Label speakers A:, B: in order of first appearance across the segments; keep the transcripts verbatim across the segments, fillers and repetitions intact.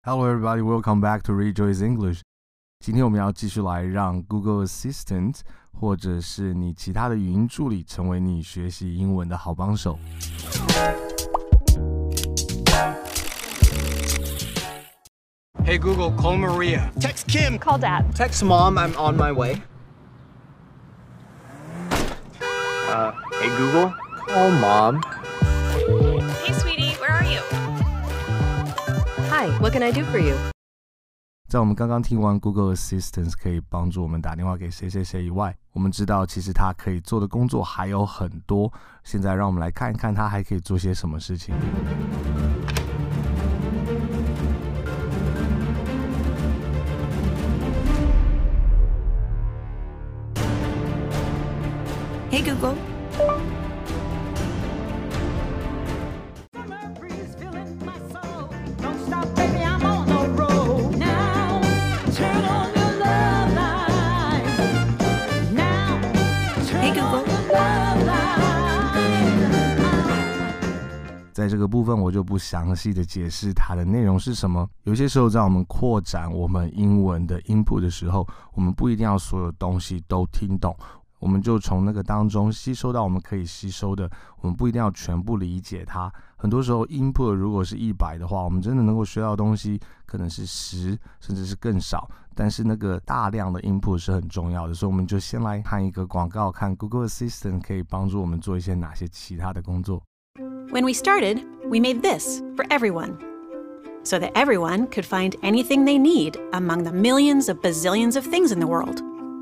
A: Hello everybody, welcome back to Rejoice English. 今天我们要继续来让 Google Assistant 或者是你其他的语音助理成为你学习英文的好帮手。
B: Hey Google, call Maria.
C: Text Kim.
D: Call Dad.
C: Text Mom, I'm on my way. Uh, hey Google, call Mom.
D: Hey sweetie, where are you? Hi, what can I do for you?
A: 在我们刚刚听完 Google Assistant 可以帮助我们打电话给谁谁谁以外，我们知道其实它可以做的工作还有很多。现在让我们来看一看它还可以做些什么事情。
E: Hey Google. Hey Google.
A: 在这个部分我就不详细的解释它的内容是什么。有些时候在我们扩展我们英文的 input 的时候，我们不一定要所有东西都听懂，我们就从那个当中吸收到我们可以吸收的，我们不一定要全部理解它。很多时候 input 如果是一百的话，我们真的能够学到的东西可能是十甚至是更少，但是那个大量的 input 是很重要的。所以我们就先来看一个广告，看 Google Assistant 可以帮助我们做一些哪些其他的工作。
E: When we started, we made this for everyone, so that everyone could find anything they need among the millions of bazillions of things in the world.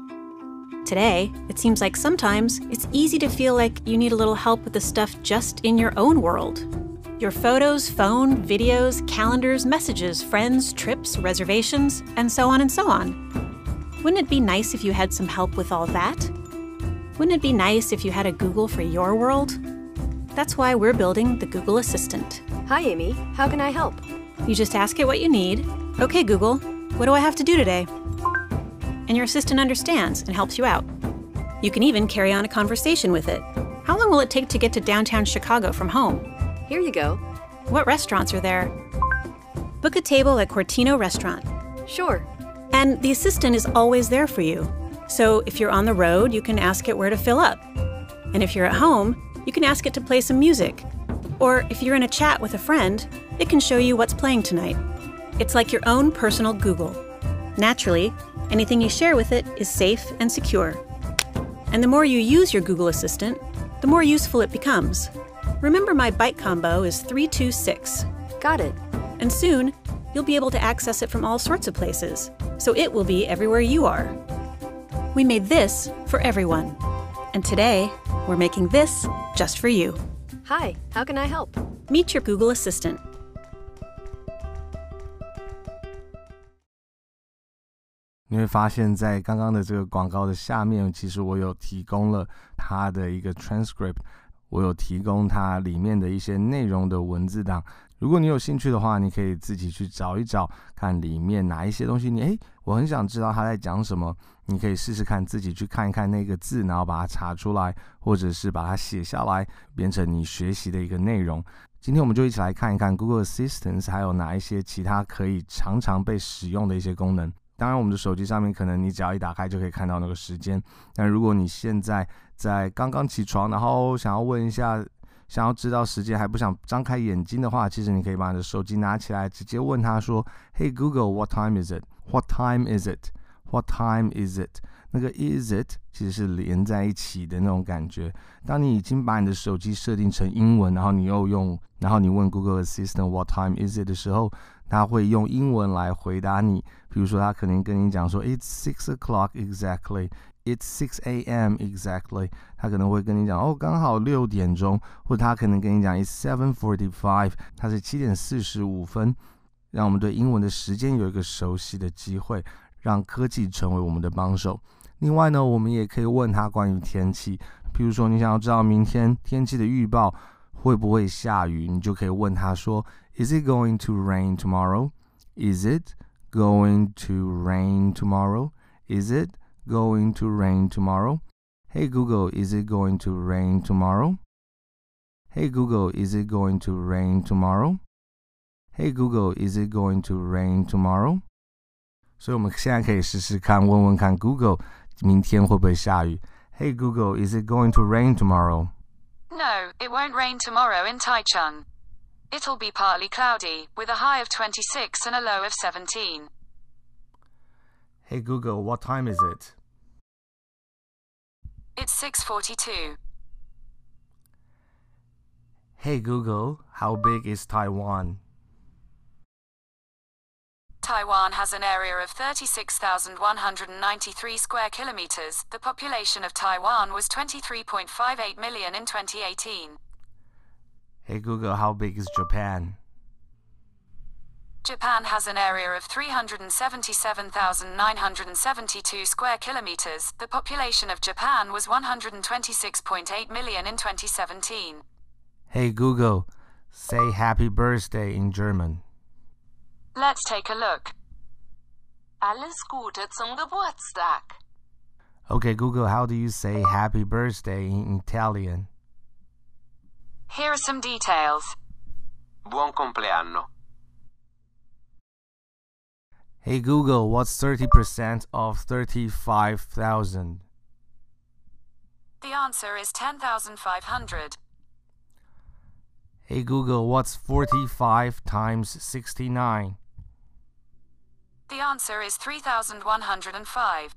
E: Today, it seems like sometimes it's easy to feel like you need a little help with the stuff just in your own world. Your photos, phone, videos, calendars, messages, friends, trips, reservations, and so on and so on. Wouldn't it be nice if you had some help with all that? Wouldn't it be nice if you had a Google for your world? That's why we're building the Google Assistant.
D: Hi Amy, how can I help?
E: You just ask it what you need. Okay, Google, what do I have to do today? And your assistant understands and helps you out. You can even carry on a conversation with it. How long will it take to get to downtown Chicago from home?
D: Here you go.
E: What restaurants are there? Book a table at Cortino Restaurant.
D: Sure.
E: And the assistant is always there for you. So if you're on the road, you can ask it where to fill up. And if you're at home, you can ask it to play some music. Or if you're in a chat with a friend, it can show you what's playing tonight. It's like your own personal Google. Naturally, anything you share with it is safe and secure. And the more you use your Google Assistant, the more useful it becomes. Remember my byte combo is three two six.
D: Got it.
E: And soon, you'll be able to access it from all sorts of places, so it will be everywhere you are. We made this for everyone. And today, we're making this just for you.
D: Hi, how can I help?
E: Meet your Google Assistant.
A: 你会发现在刚刚的这个广告的下面，其实我有提供了它的一个 transcript， 我有提供它里面的一些内容的文字档。如果你有兴趣的话，你可以自己去找一找，看里面哪一些东西你诶我很想知道他在讲什么，你可以试试看自己去看一看那个字，然后把它查出来，或者是把它写下来，变成你学习的一个内容。今天我们就一起来看一看 Google Assistant 还有哪一些其他可以常常被使用的一些功能。当然我们的手机上面可能你只要一打开就可以看到那个时间，但如果你现在在刚刚起床，然后想要问一下，想要知道时间还不想张开眼睛的话，其实你可以把你的手机拿起来，直接问他说 Hey Google, what time is it? What time is it? What time is it? 那个 is it 其实是连在一起的那种感觉。当你已经把你的手机设定成英文，然后你又用，然后你问 Google Assistant What time is it 的时候，他会用英文来回答你。比如说他可能跟你讲说 It's six o'clock exactly, It's six a.m. exactly， 他可能会跟你讲哦刚好六点钟，或者他可能跟你讲 It's seven forty-five， 它是七点四十五分。让我们对英文的时间有一个熟悉的机会，让科技成为我们的帮手。另外呢，我们也可以问他关于天气，譬如说你想要知道明天天气的预报会不会下雨，你就可以问他说 Is it going to rain tomorrow? Is it going to rain tomorrow? Is it going to rain tomorrow? Hey Google, is it going to rain tomorrow? Hey Google, is it going to rain tomorrow? Hey Google, is it going to rain tomorrow? 所以我们现在可以试试看，问问看 Google 明天会不会下雨。Hey Google, is it going to rain tomorrow?
F: No, it won't rain tomorrow in Taichung. It'll be partly cloudy, with a high of twenty-six and a low of seventeen.
A: Hey Google, what time is it?
F: It's six forty-two.
A: Hey Google, how big is Taiwan?
F: Taiwan has an area of thirty-six thousand one hundred ninety-three square kilometers. The population of Taiwan was twenty-three point five eight million in twenty eighteen.
A: Hey Google, how big is Japan?
F: Japan has an area of three hundred seventy-seven thousand nine hundred seventy-two square kilometers. The population of Japan was one hundred twenty-six point eight million in twenty seventeen.
A: Hey Google, say happy birthday in German.
F: Let's take a look.
G: Alles Gute zum Geburtstag.
A: Okay, Google, how do you say happy birthday in Italian?
F: Here are some details.
H: Buon compleanno.
A: Hey Google, what's thirty percent of thirty-five thousand?
F: The answer is ten thousand five hundred.
A: Hey Google, what's forty-five times sixty-nine?
F: The answer is three thousand one hundred five.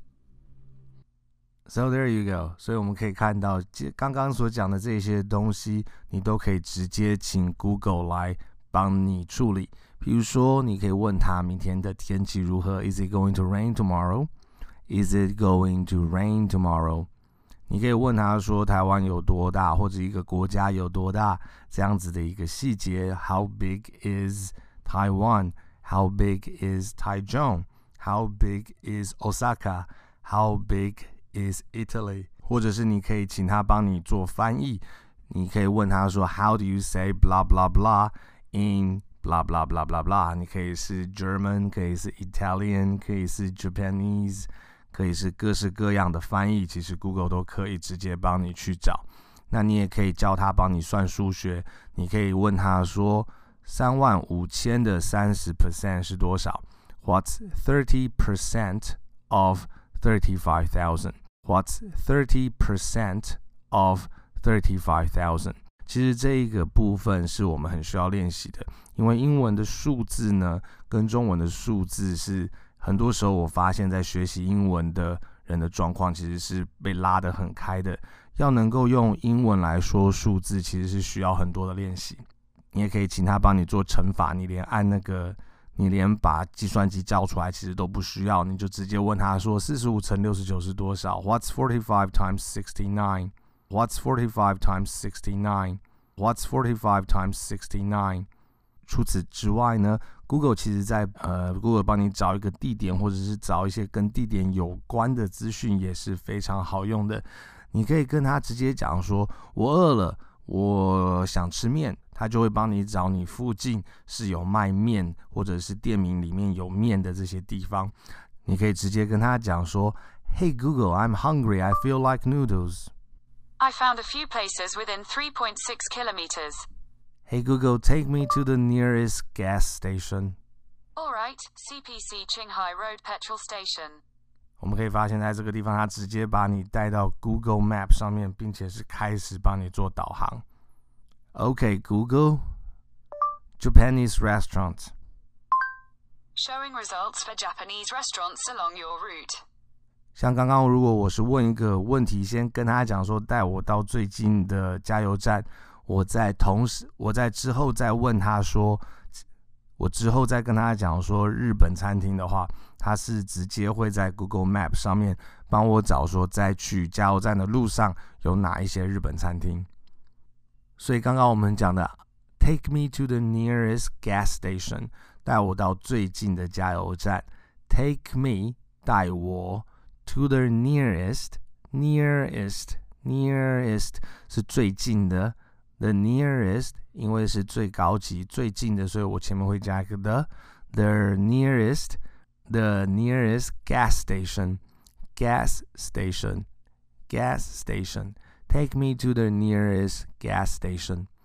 A: So there you go. 所以我们可以看到，刚刚所讲的这些东西，你都可以直接请 Google 来帮你处理。比如说，你可以问他明天的天气如何 ？Is it going to rain tomorrow? Is it going to rain tomorrow? 你可以问他说台湾有多大，或者一个国家有多大，这样子的一个细节。How big is Taiwan? How big is Taichung? How big is Osaka? How big is Italy? 或者是你可以请他帮你做翻译。你可以问他说 How do you say blah blah blah in blah blah blah blah blah? 你可以是 German, 可以是 Italian, 可以是 Japanese。可以是各式各样的翻译，其实 Google 都可以直接帮你去找。那你也可以叫他帮你算数学，你可以问他说三万五千的三十 percent 是多少 ？What's thirty percent of thirty-five thousand? What's thirty percent of thirty-five thousand? 其实这一个部分是我们很需要练习的，因为英文的数字呢，跟中文的数字是。很多时候我发现在学习英文的人的状况其实是被拉得很开的，要能够用英文来说数字其实是需要很多的练习。你也可以请他帮你做乘法，你连按那个你连把计算机叫出来其实都不需要，你就直接问他说四十五乘六十九是多少 What's forty-five times sixty-nine? What's forty-five times sixty-nine? What's forty-five times sixty-nine? 除此之外呢 Google 其实在呃 Google 帮你找一个地点或者是找一些跟地点有关的资讯也是非常好用的。你可以跟他直接讲说我饿了，我想吃面，他就会帮你找你附近是有卖面或者是店名里面有面的这些地方。你可以直接跟他讲说 Hey Google, I'm hungry, I feel like noodles.
F: I found a few places within three point six kilometers.Hey
A: Google, take me to the nearest gas station.
F: All right, C P C Qinghai Road Petrol Station.
A: 我们可以发现在这个地方它直接把你带到 Google Map 上面，并且是开始帮你做导航。Okay, Google, Japanese restaurant.
F: Showing results for Japanese restaurants along your route.
A: 像刚刚如果我是问一个问题，先跟他讲说带我到最近的加油站。我在同时，我在之后再问他说，我之后再跟他讲说日本餐厅的话，他是直接会在 Google Map 上面帮我找说，在去加油站的路上有哪一些日本餐厅。所以刚刚我们讲的 Take me to the nearest gas station， 带我到最近的加油站。Take me 带我 to the nearest nearest nearest 是最近的。The nearest 因为是最高级最近的，所以我前面会加一个 the the nearest the nearest gas station gas station gas station take me to the nearest gas station。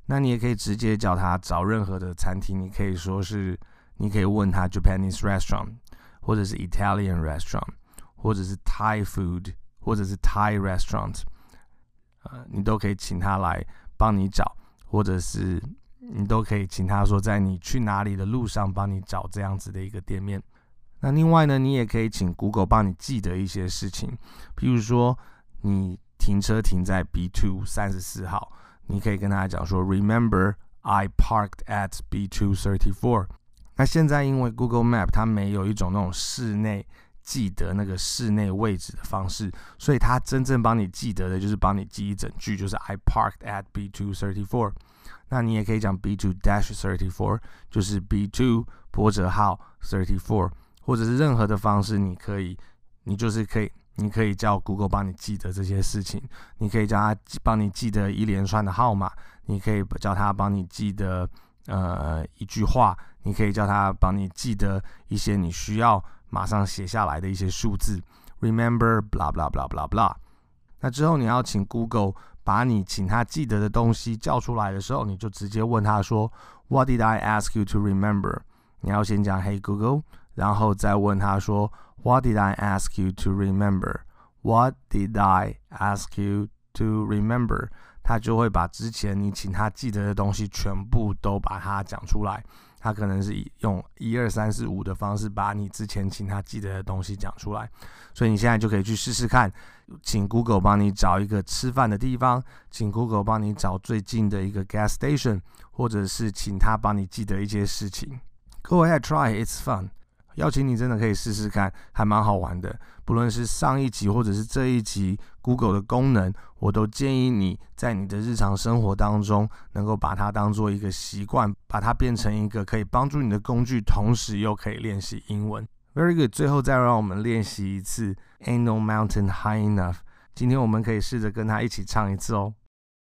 A: 那你也可以直接叫他找任何的餐厅，你可以说是，你可以问他 Japanese restaurant， 或者是 Italian restaurant， 或者是 Thai food， 或者是 Thai restaurant， 呃，你都可以请他来帮你找，或者是你都可以请他说在你去哪里的路上帮你找这样子的一个店面。那另外呢，你也可以请 Google 帮你记得一些事情，譬如说你停车停在 B 二 三十四号，你可以跟他讲说 Remember I parked at B 二 三十四。 那现在因为 Google Map 它没有一种那种室内记得那个室内位置的方式，所以它真正帮你记得的就是帮你记一整句，就是 I parked at B 二 三十四。 那你也可以讲 B 二 三十四， 就是 B 二 波折号三十四，或者是任何的方式，你可以，你就是可以，你可以叫 Google 帮你记得这些事情，你可以叫他帮你记得一连串的号码，你可以叫他帮你记得呃一句话，你可以叫他帮你记得一些你需要马上写下来的一些数字 ，Remember blah blah blah blah blah。那之后你要请 Google 把你请他记得的东西叫出来的时候，你就直接问他说 What did I ask you to remember？ 你要先讲 Hey Google。然后再问他说 What did I ask you to remember? What did I ask you to remember? 他就会把之前你请他记得的东西全部都把它讲出来。他可能是用一二三四五的方式把你之前请他记得的东西讲出来。所以你现在就可以去试试看，请 Google 帮你找一个吃饭的地方，请 Google 帮你找最近的一个 gas station， 或者是请他帮你记得一些事情。Go ahead, try it, it's fun。邀请你真的可以试试看，还蛮好玩的。不论是上一集或者是这一集 Google 的功能，我都建议你在你的日常生活当中能够把它当做一个习惯，把它变成一个可以帮助你的工具，同时又可以练习英文。Very good， 最后再让我们练习一次 Ain't no mountain high enough。 今天我们可以试着跟他一起唱一次哦。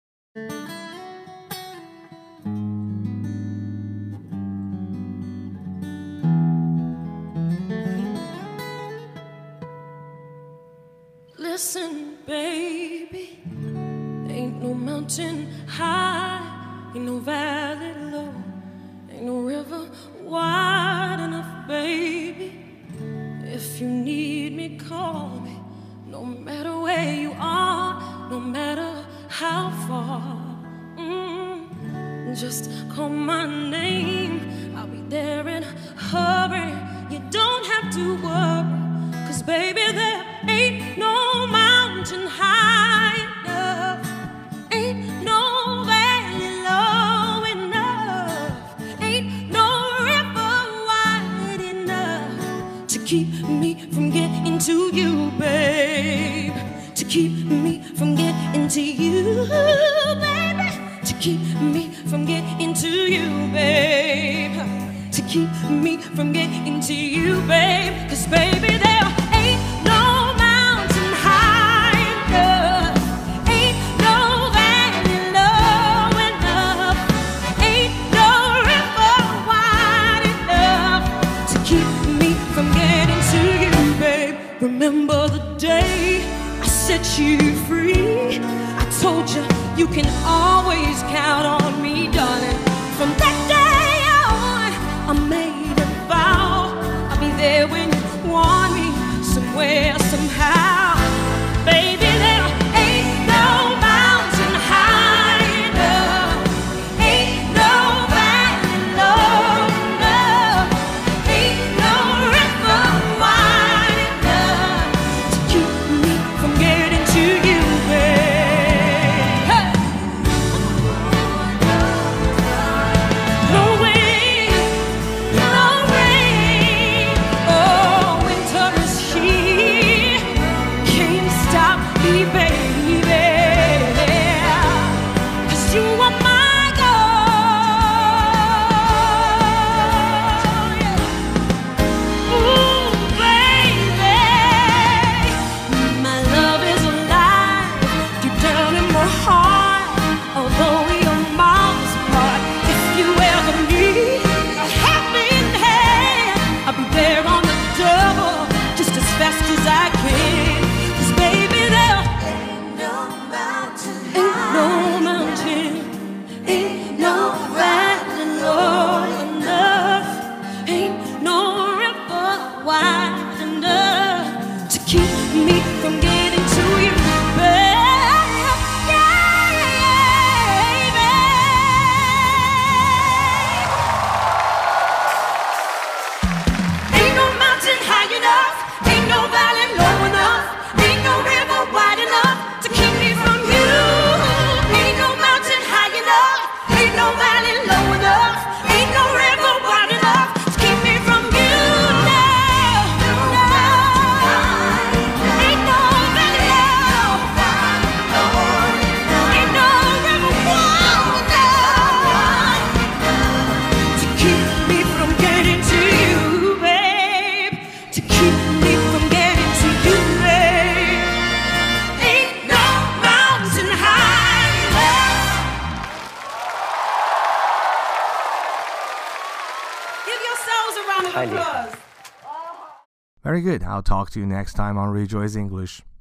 I: Listen, baby, ain't no mountain high, ain't no valley low, ain't no river wide enough, baby. If you need me, call me, no matter where you are, no matter how far. Mm, just call my name, I'll be there in a hurry. You don't have to worry, 'cause baby, there ain't no mountain high enough, ain't no valley low enough, ain't no river wide enough to keep me from getting to you, babe. To keep me from getting to you, baby. To keep me from getting to you, babe. To keep me from getting to you, babe. 'Cause baby, there ain't no mountain high enough, ain't no valley low enough, ain't no river wide enough to keep me from getting to you, babe. Remember the day I set you free? I told you you can always count on me, darling. From that day on, I made a vow I'll be there when you want me, somewhere, somehow. Baby, there ain't no mountain high enough, ain't no valley low enough, ain't no river wide enough to keep me from getting to you, babe. Hey! No wind, no rain, oh, winter is here.
C: 太厉害。
A: Very good. I'll talk to you next time on Rejoice English.